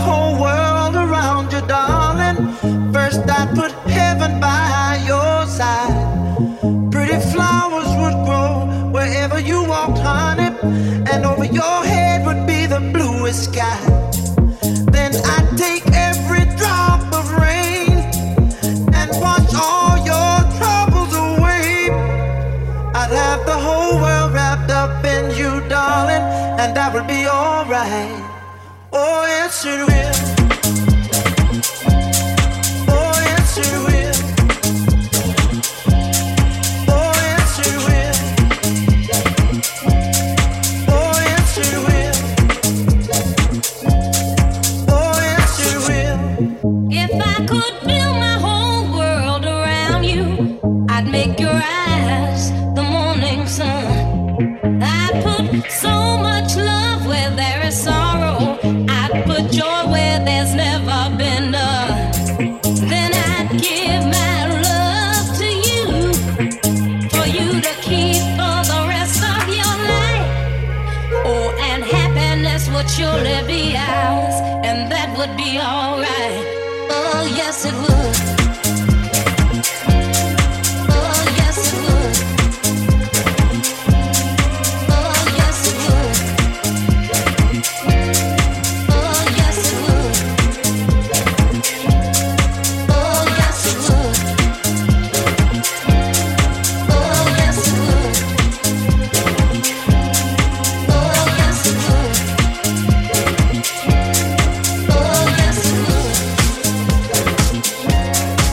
whole world around you, darling. First I'd put heaven by your side. Pretty flowers would grow wherever you walked, honey, and over your head would be the bluest sky. Then I'd take every drop of rain and wash all your troubles away. I'd have the whole world wrapped up in you, darling, and that would be alright. Oh, yes, it will. Oh, yes, it will. Oh, yes, it will. Oh, yes, it will. Oh, yes, it will. If I could build my whole world around you, I'd make your eyes the morning sun. I'd put so much love where there is sorrow. I'd put joy where there's never been none. Then I'd give my love to you, for you to keep for the rest of your life. Oh, and happiness would surely be ours, and that would be alright. Oh, yes, it would. Oh, yes, it would. Oh, yes, it would. Oh, yes, it would. Oh, yes, it would. Oh, yes, it would. Oh, yes, it would. Oh, yes, it would.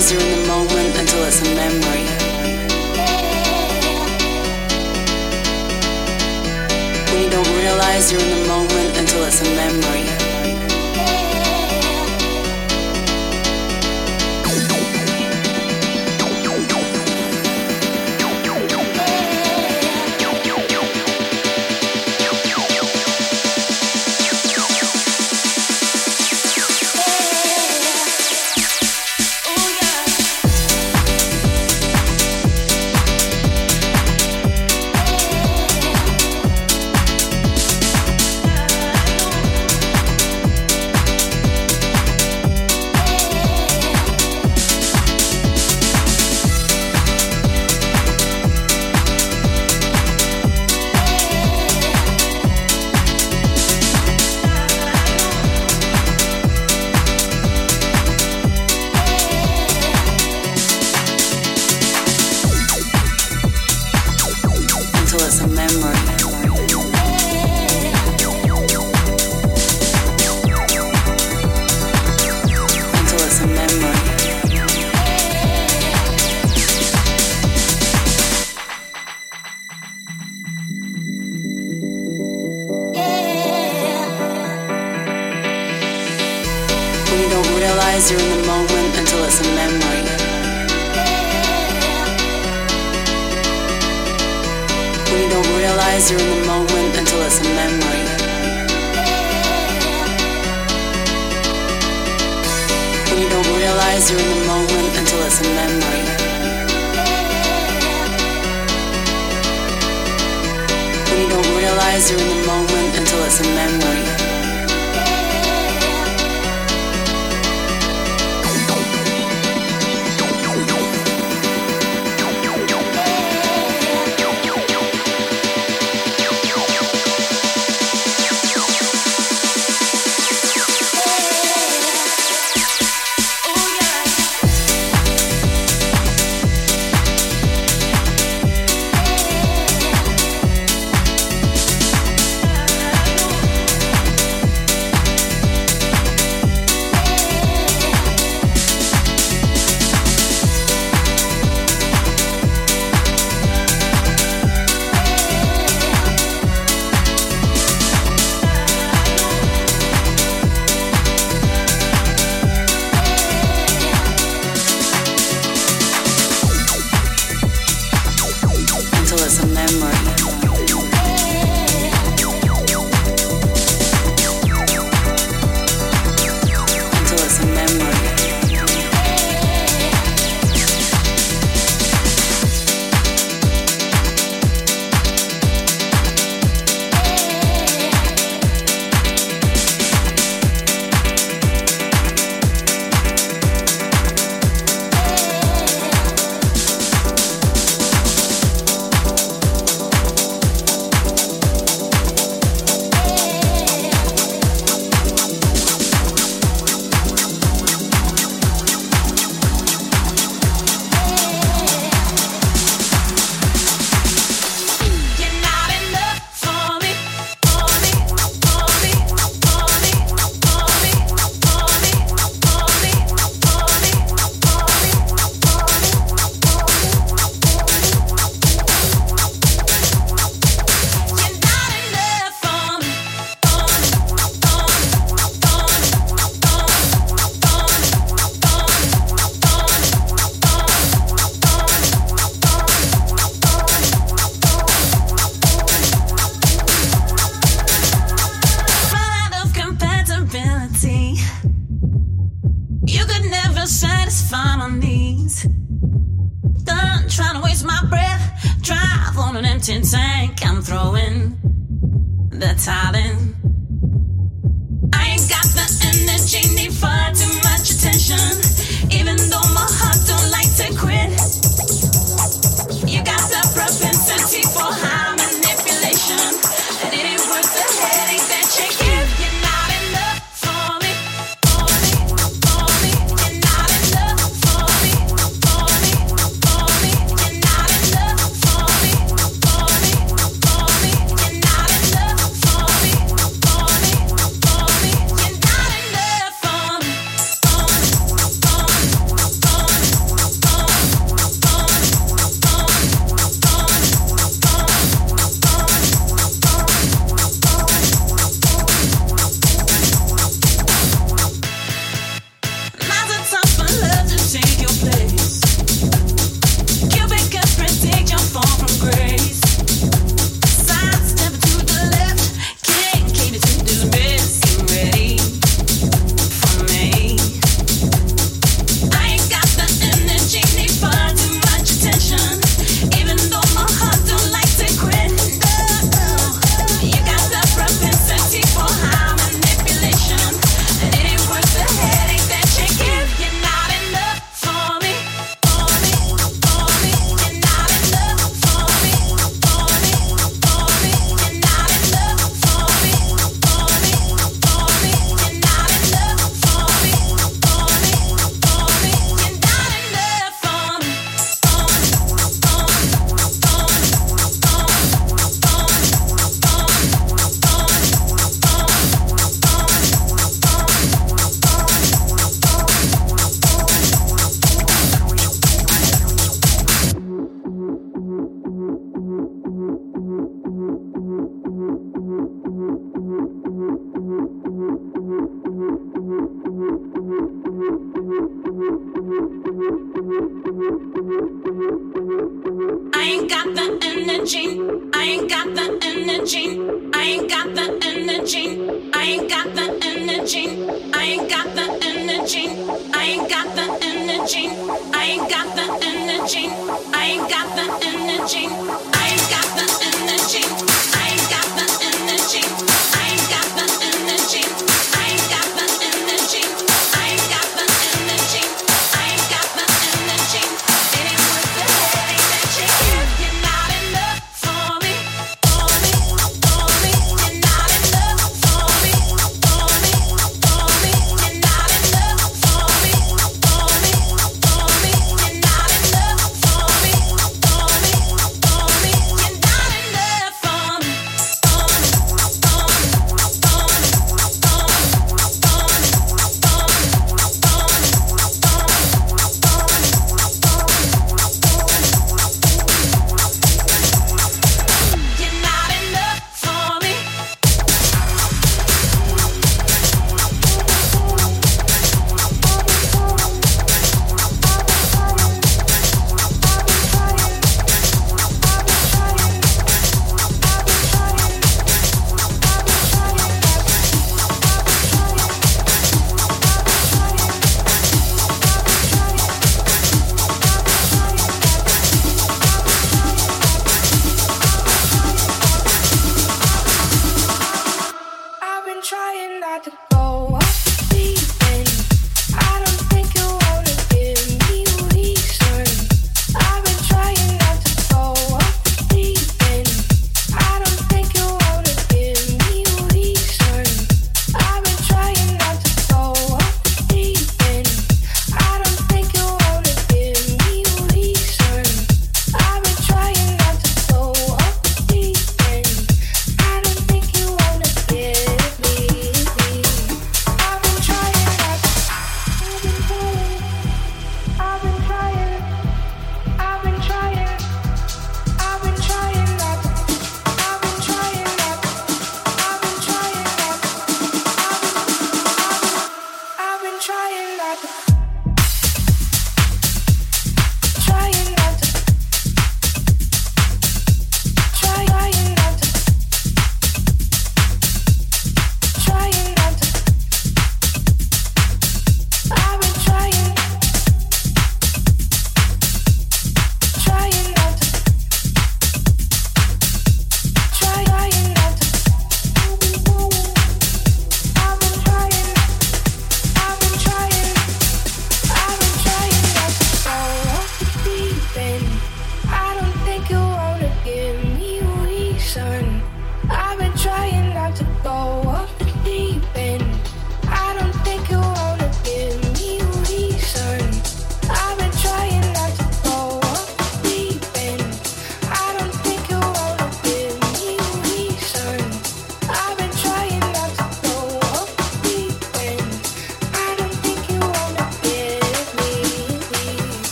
realize you're in the moment until it's a memory. When you don't realize you're in the moment until it's a memory. You're in the moment until it's a memory. When you don't realize you're in the moment until it's a memory. When you don't realize you're in the moment until it's a memory. When you don't realize you're in the moment until it's a memory.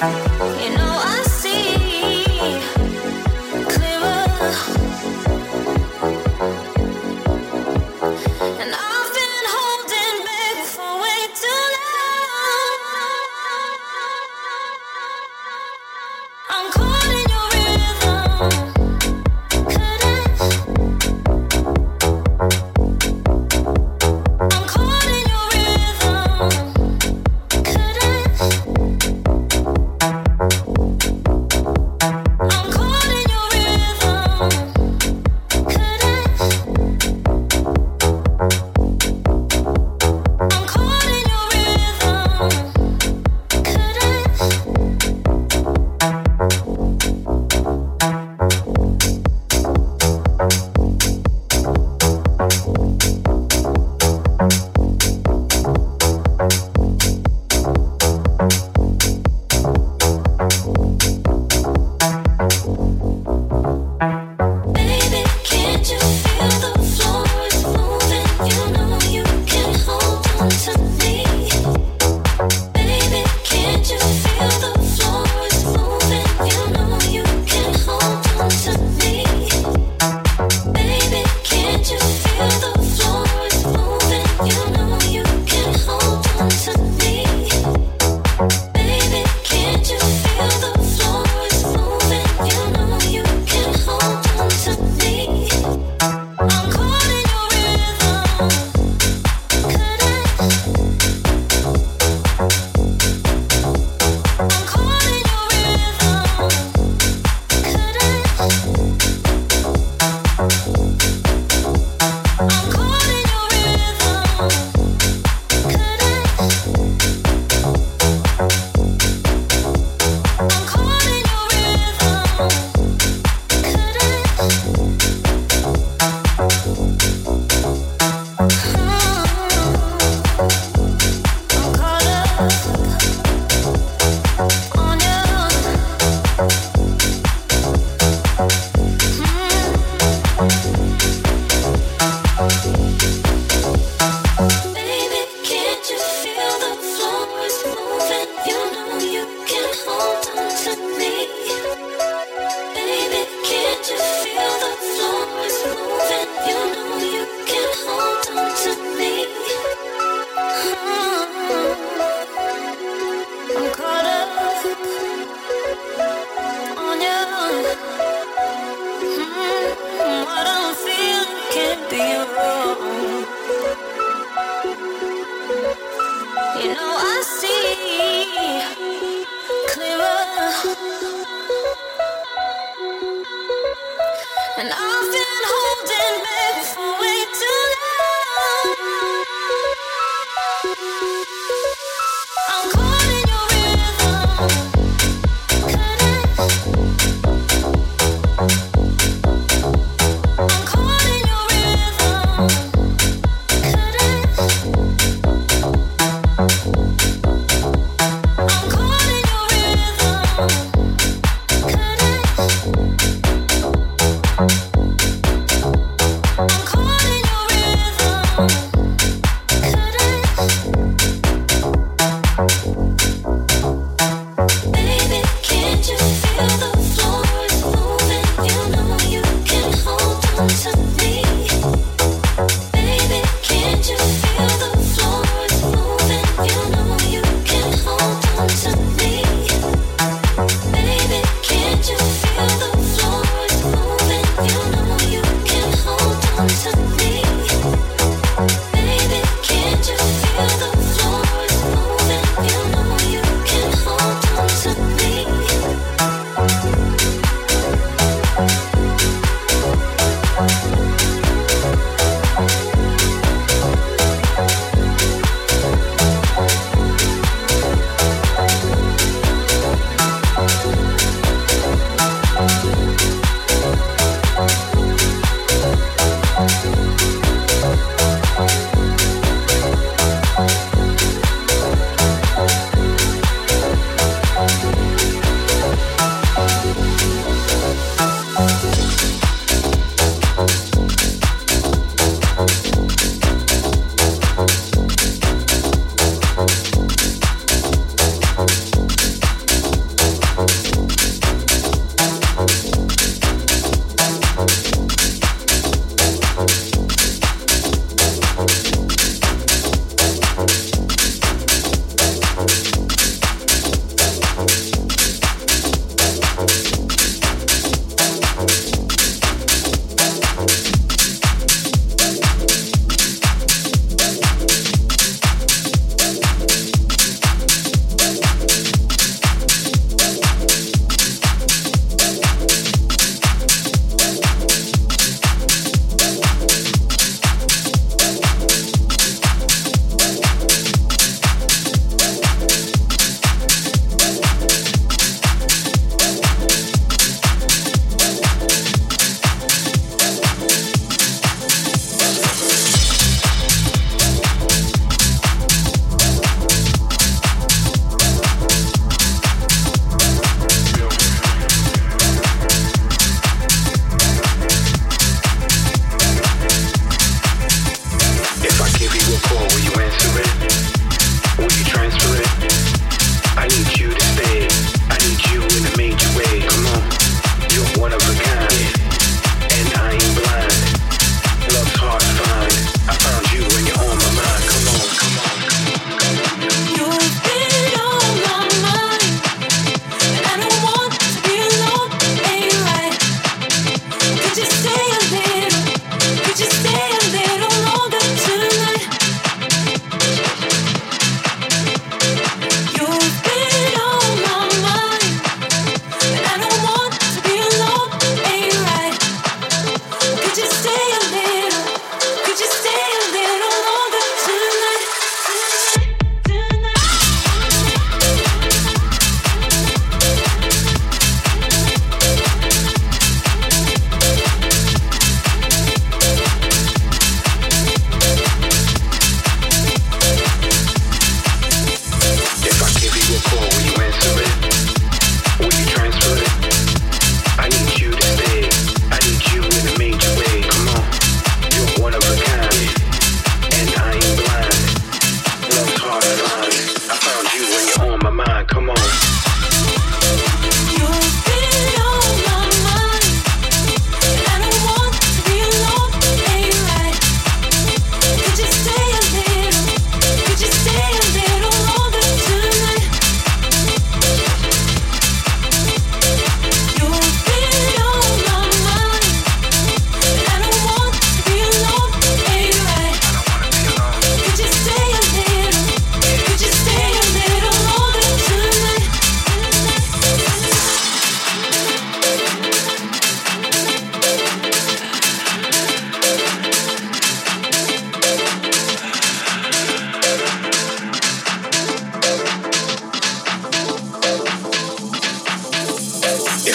I'm caught in your rhythm.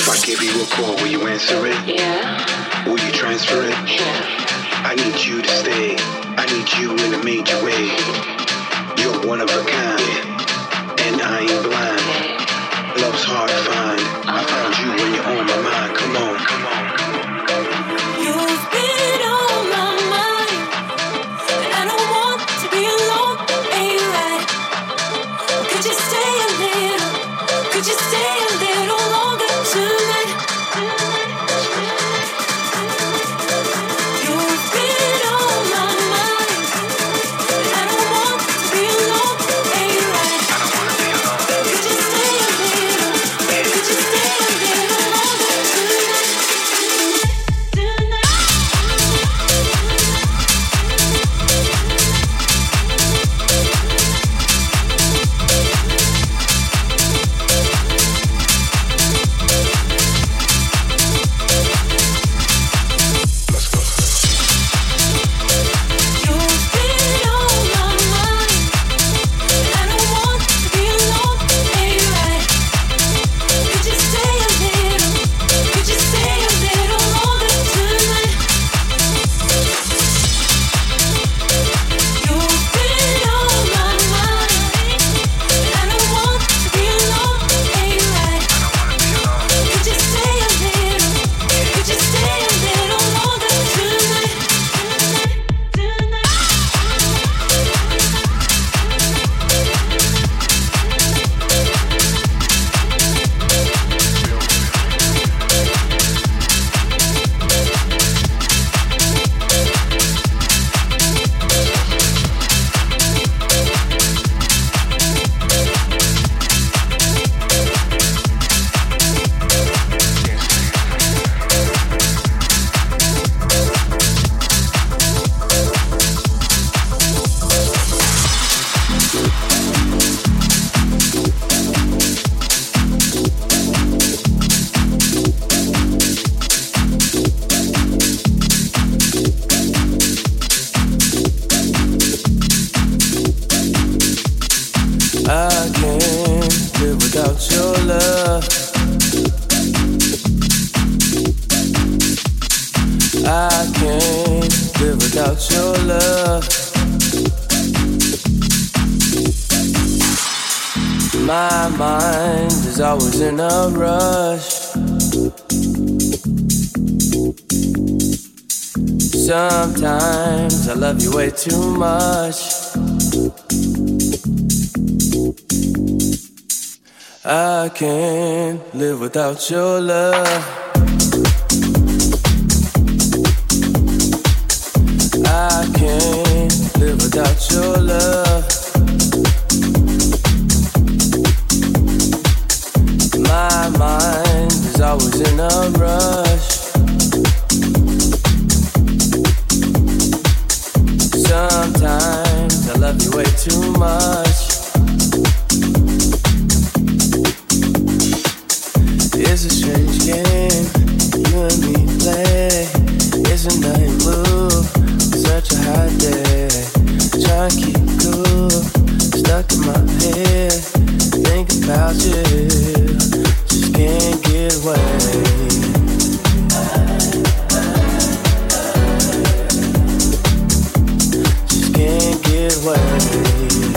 If I give you a call, will you answer it? Yeah. Will you transfer it? Yeah. I need you to stay. I need you in a major way. You're one of a kind, and I ain't blind. Love's hard to find. I found you when you're on my mind. Come on, come on, come on. You've been on my mind, and I don't want to be alone. Ain't right? Could you stay a little? Could you stay a little longer tonight? You've been on my mind, and I don't want to be alone. Ain't right? Could you stay a little? Could you stay a little longer tonight? Let's go. You've been on my mind, and I don't want to be alone. Ain't right? Could you stay a little? Could you stay a little longer tonight? You've been on my mind, and I don't want to be alone. Ain't right? Could you stay a little? Could you stay a little longer tonight? I can't live without your love. I can't live without your love. My mind is always in a rush. Sometimes I love you way too much. I can't live without your love. I can't live without your love. My mind is always in a rush. Sometimes I love you way too much. It's a strange game you and me play. It's a night move, such a hot day. Try and keep cool, stuck in my head. Think about you, just can't get away. Just can't get away.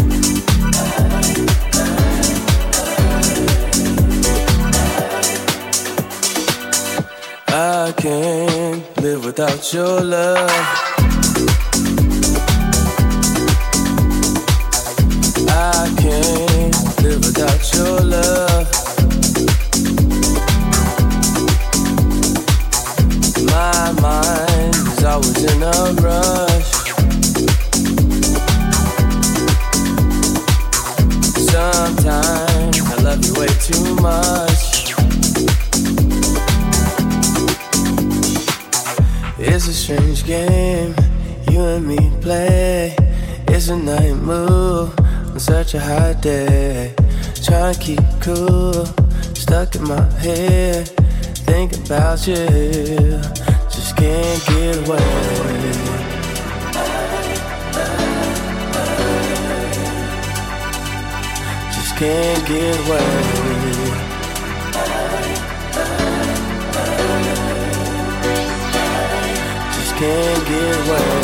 I can't live without your love. I can't live without your love. My mind is always in a rush. Sometimes I love you way too much. It's a strange game you and me play. It's a night move on such a hot day. Try and keep cool, stuck in my head. Think about you, just can't get away. Just can't get away. get away.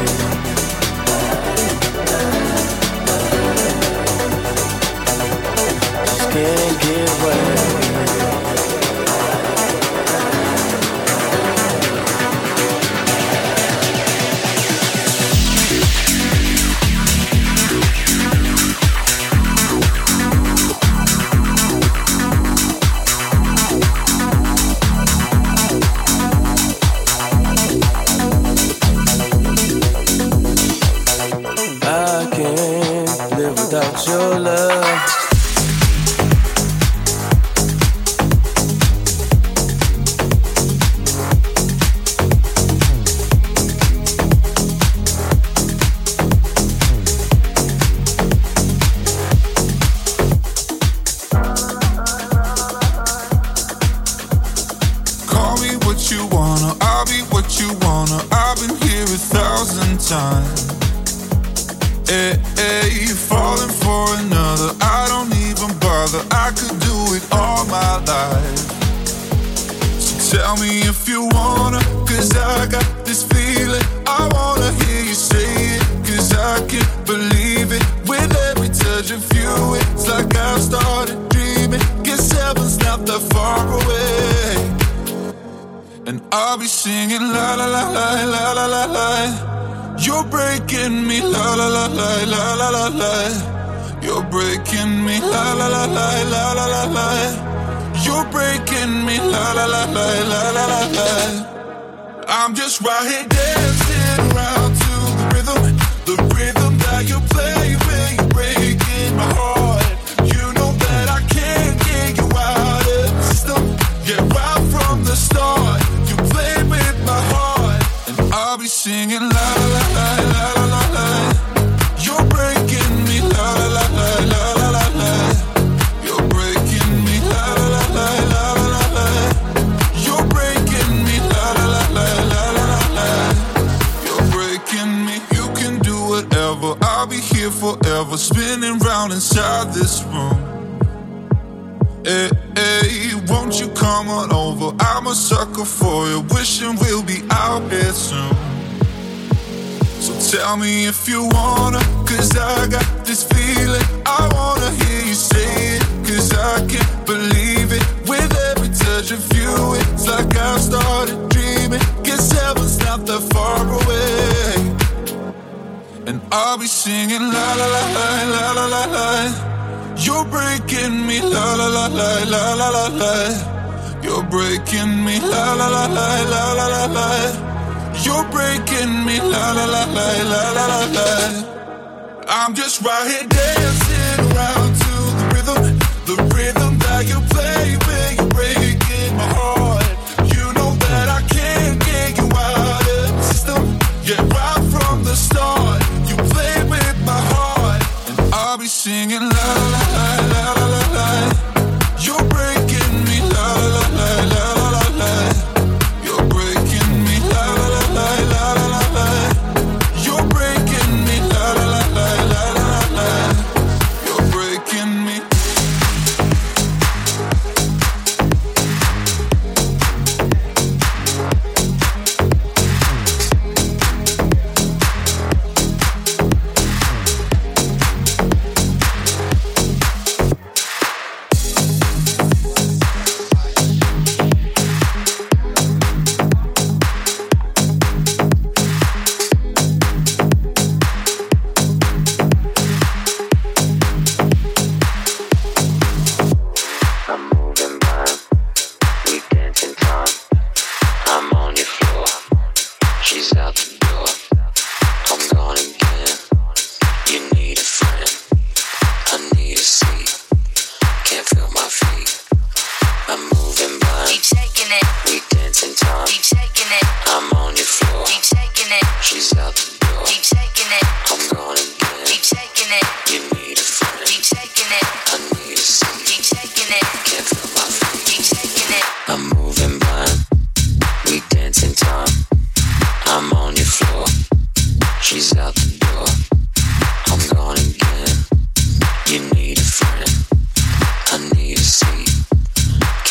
Just can't get away. Without your love, call me what you wanna, I'll be what you wanna. I've been here 1,000 times. Hey, hey, falling for another, I don't even bother. I could do it all my life. So tell me if you wanna, cause I got this feeling. I wanna hear you say it, cause I can't believe it. With every touch of you, it's like I've started dreaming. Guess heaven's not that far away. And I'll be singing la la la la la la la la. You're breaking me, la la la la la la la la. You're breaking me, la la la la la la la la. You're breaking me, la la la la la la la la. I'm just right here dancing around to the rhythm that you play when you're breaking my heart. You know that I can't get you out of the system. Yeah, right from the start, you played with my heart, and I'll be singing la la la. Forever spinning round inside this room. Hey, hey, won't you come on over? I'm a sucker for you, wishing we'll be out here soon. So tell me if you wanna, cause I got this feeling. I wanna hear you say it, cause I can't believe it. With every touch of you, it's like I've started dreaming. Guess heaven's not that far away. And I'll be singing la la la la la la la la. You're breaking me, la la la la la la la la. You're breaking me, la la la la la la la la. You're breaking me, la la la la la la la la. I'm just right here dancing around to the rhythm that you play when you're breaking my heart. You know that I can't get you out of the system. Yeah, right from the start. I'll be singing la la la la la la la. You're breaking me la la la la la la la. You're breaking me la la la la la la la. You're breaking me la la la la la la la. You're breaking me.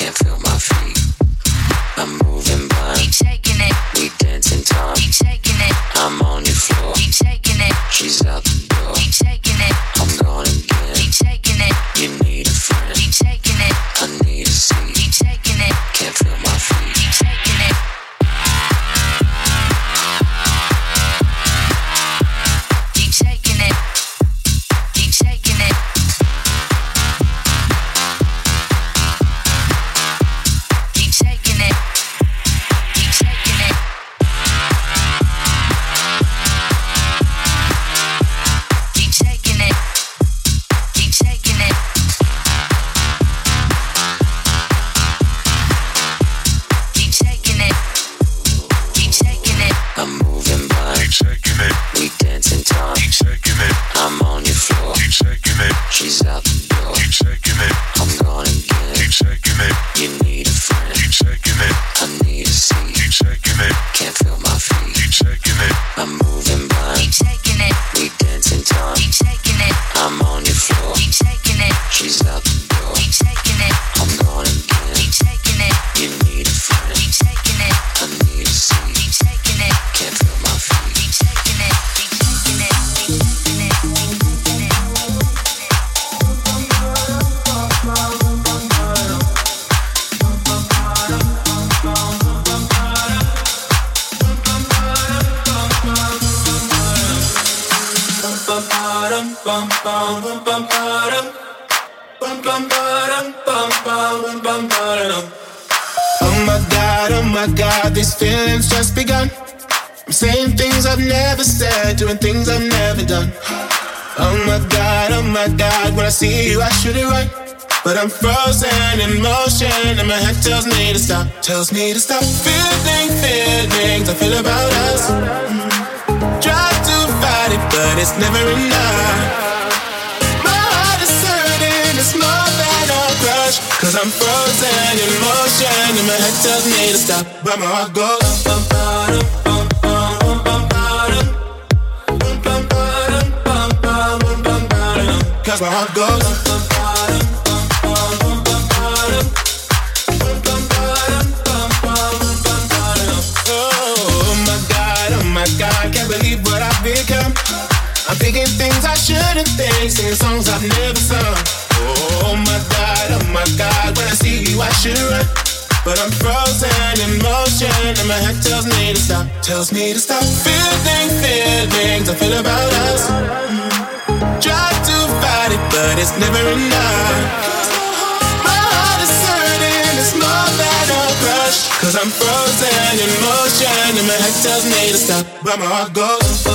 Keep shaking it. You need a friend. Keep shaking it. I need to see. Keep shaking it. Can't feel my feet. Keep shaking it. I'm moving blind. Keep shaking it. We dancing time. Keep shaking it. I'm on your floor. Keep shaking it. She's out the door. Keep shaking it. I'm gone again. Keep shaking it. You need a friend. Keep shaking it. I need to see. Keep shaking it. Can't feel my feet. Keep shaking it. Keep shaking it. Keep shaking it. Oh my God, these feelings just begun. I'm saying things I've never said, doing things I've never done. Oh my God, when I see you I should it right. But I'm frozen in motion and my head tells me to stop. Feeling feelings I feel about us. Try to fight it, but it's never enough. My heart is hurting, it's more than a crush. Cause I'm frozen in motion and my head tells me to stop. But my heart goes cause my heart goes oh my God, can't believe what I've become. I'm thinking things I shouldn't think, singing songs I've never sung. Oh my God, when I see you I should run. But I'm frozen in motion and my head tells me to stop. Feeling feelings I feel about us. Try to fight it, but it's never enough. My heart is hurting, it's more than a crush. Cause I'm frozen in motion and my head tells me to stop. But my heart goes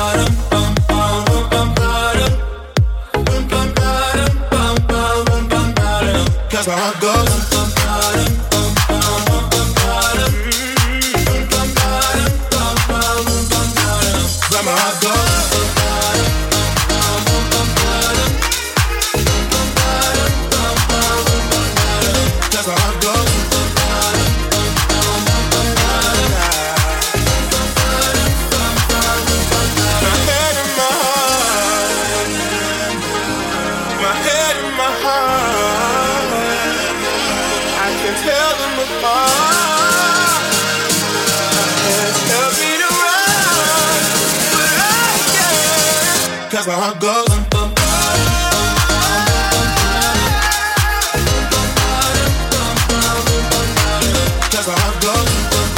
cause my heart goes but my heart goes cause my heart goes my head and my heart, my head and my heart, I can tell them apart. Tell me to run, but I can't. Cause my heart goes cause my heart goes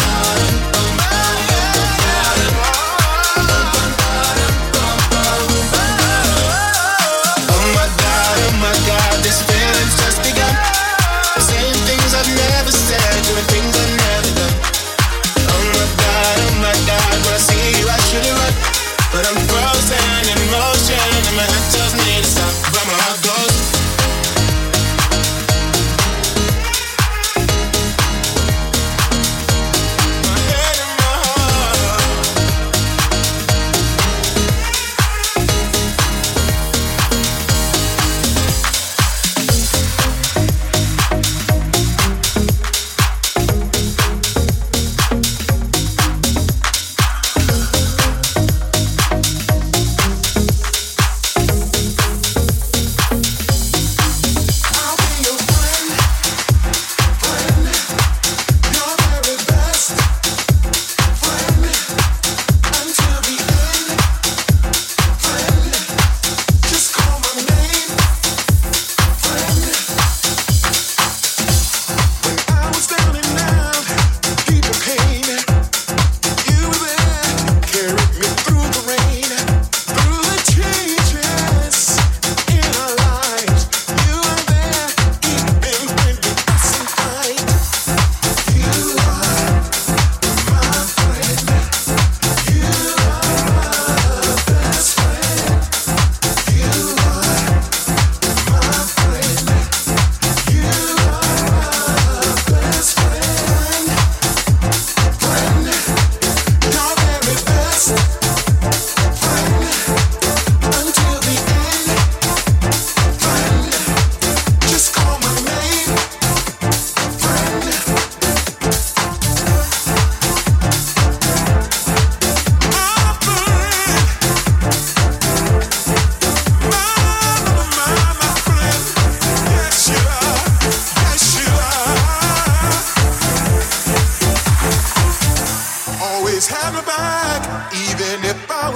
oh my God, this feeling's just begun. I'm saying things I've never said, doing things I've never done. Oh my God, when I see you I should it right. But I'm frozen in motion and my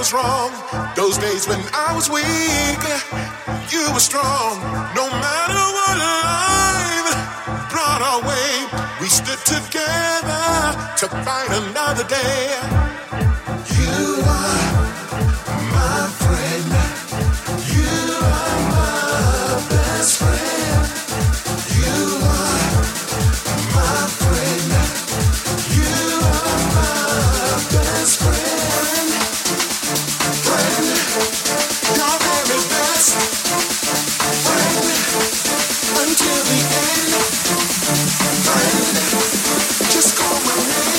was wrong. Those days when I was weak, you were strong. No matter what life brought our way, we stood together to fight another day. You are my friend. You are my best friend. You are my friend. You are my best friend. Friend, your very best friend until the end. Friend, just call my name.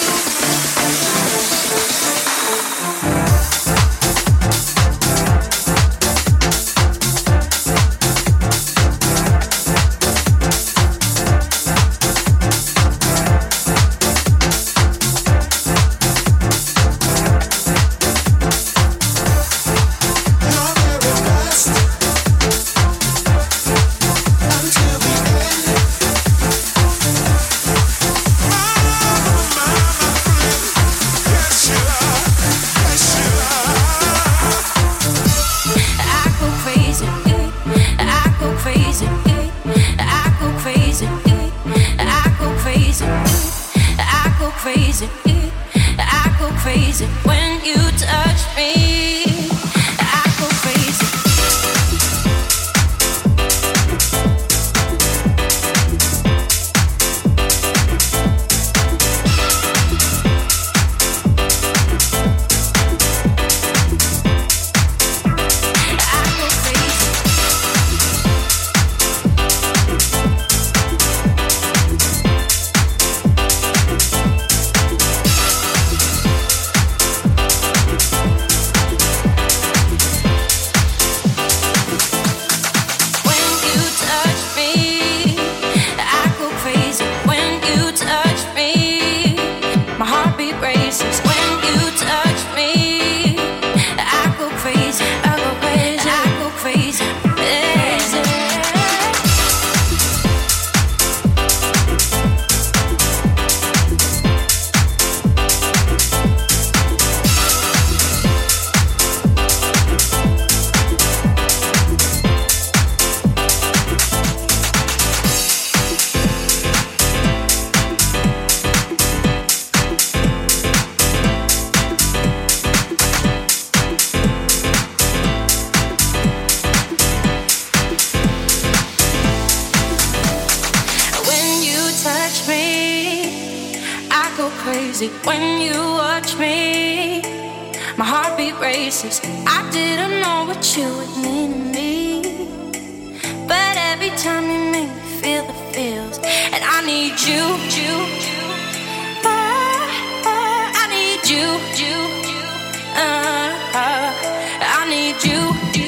When you watch me, my heartbeat races. I didn't know what you would mean to me, but every time you make me feel the feels, and I need you, I need you, I need you.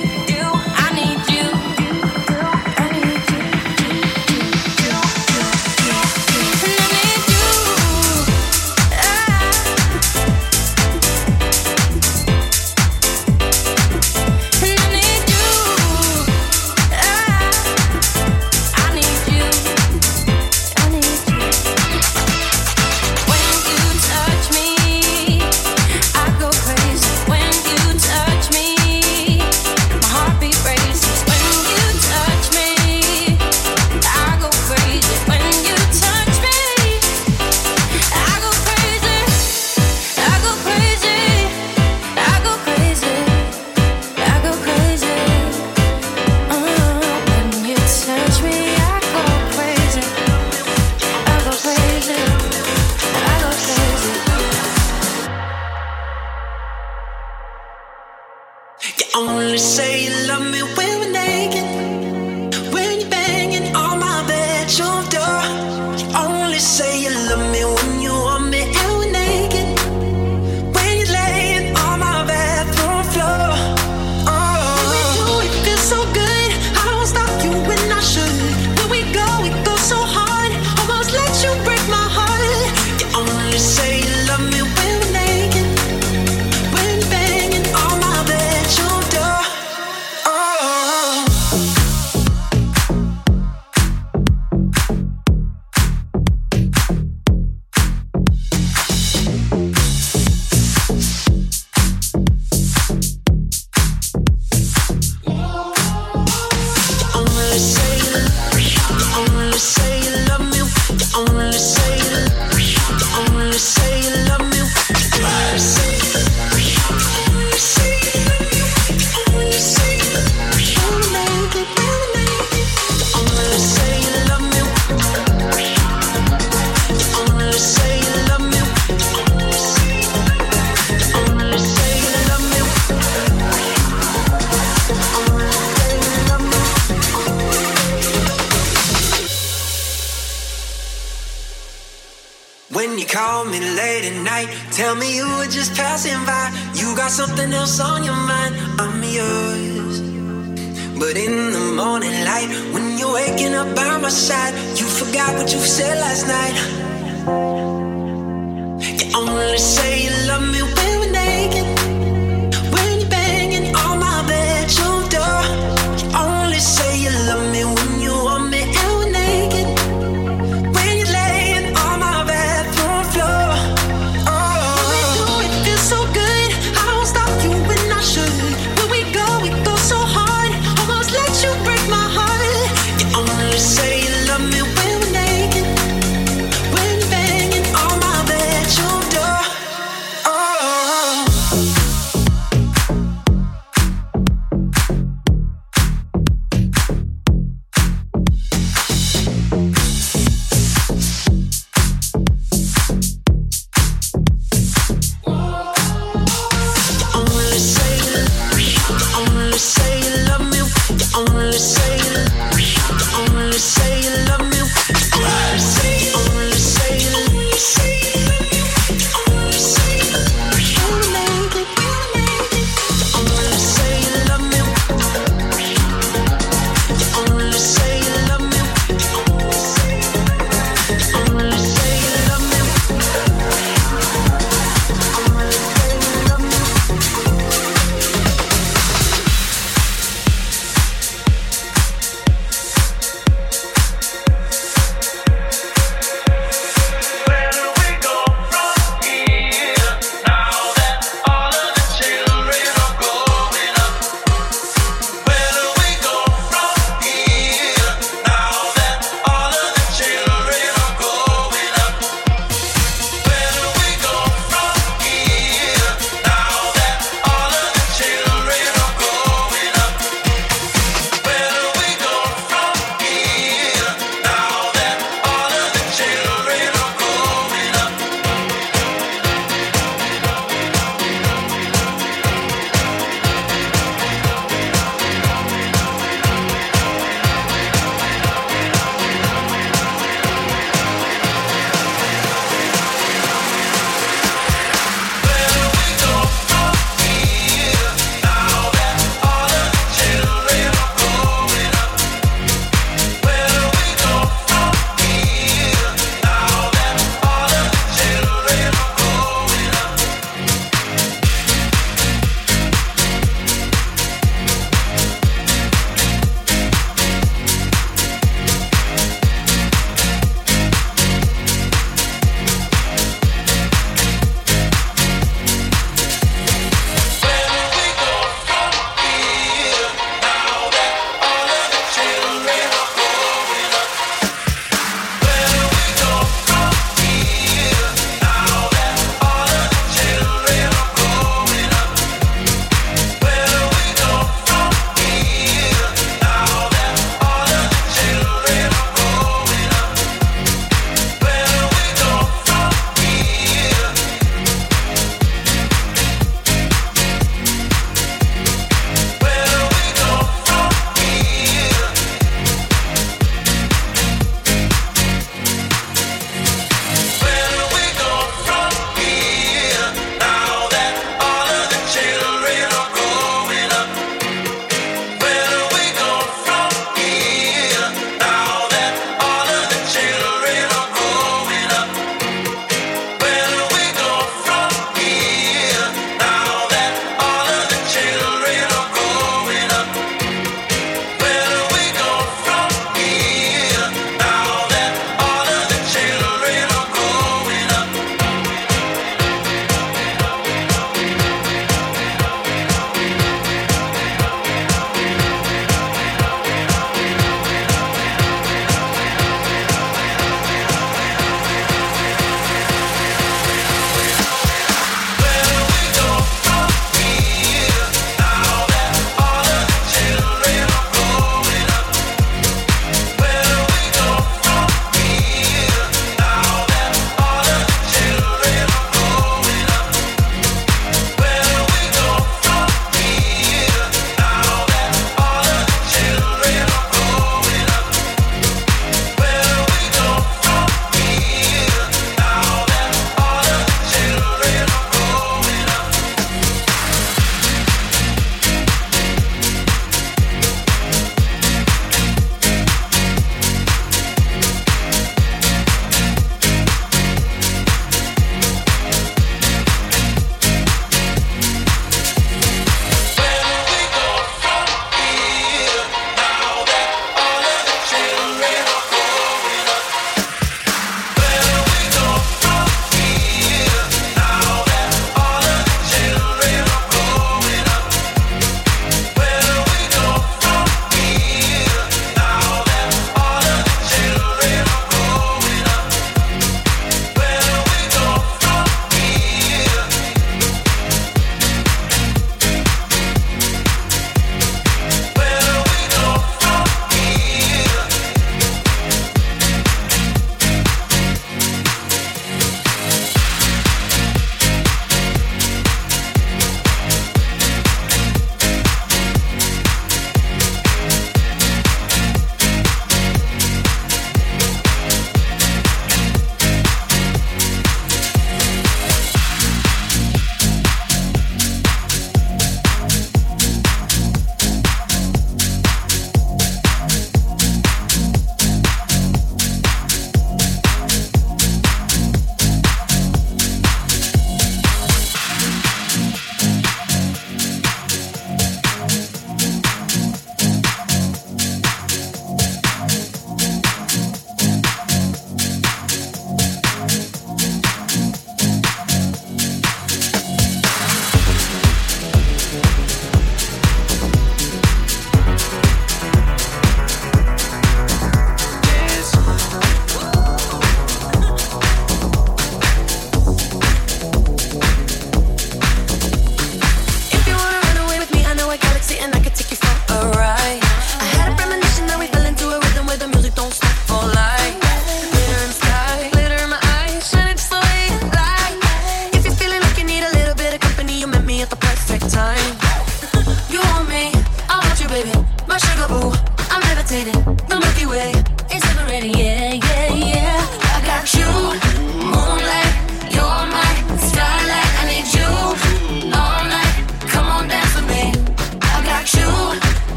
Only say you love me when we're naked, when you're banging on my bedroom door. You only say you love me when you want me and we're naked, when you're laying on my bathroom floor. Oh, when we do it feels so good, I won't stop you when I should. When we go so hard, almost let you break my heart. You only say you love me when we're naked, when you're banging on my bedroom door. When you call me late at night, tell me you were just passing by. You got something else on your mind, I'm yours. But in the morning light, when you're waking up by my side, you forgot what you said last night. You only say you love me when we're naked, when you're banging on my bedroom door. You only say you love me when you want me and we're naked, when you're laying on my bedroom floor. Oh, when we do it feels so good, I won't stop you when I should. When we go so hard, almost let you break my heart. You only say you love me when we're naked, when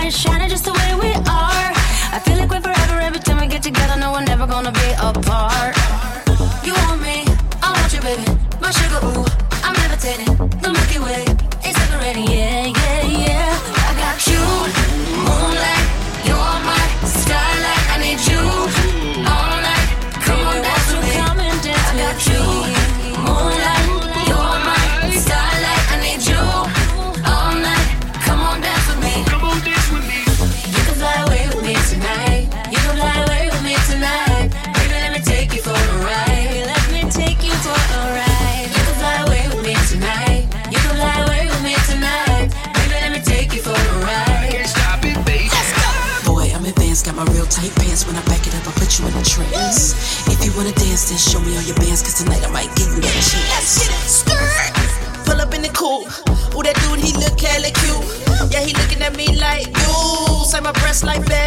is shining just the way we are. I feel like we're forever every time we get together. No, we're never gonna be apart. You want me, I want you, baby. My sugar, ooh, I'm levitating. The Milky Way, it's separating, yeah, yeah, yeah. I got you, moonlight, you're my starlight. I need you all night. Come on, dance with me. Come and dance with me. I got you, moonlight, you're my starlight. I need you all night. Come on, dance with me. Come on, dance with me. You can fly away with me tonight. You can fly away with me tonight. Baby, let me take you for a ride. Let me take you for a ride. You can fly away with me tonight. You can fly away with me tonight. Baby, let me take you for a ride. Can't stop it, baby. Let's go. Boy, I'm advanced, got my real tight pants. When I back it up, I put you in a trance. If you wanna dance, then show me all your bands, cause tonight I might give you that chance. Let's get it. Skirt. Pull up in the coupe. Ooh, that dude, he look hella cute. Yeah, he looking at me like, you. Say my breasts like that.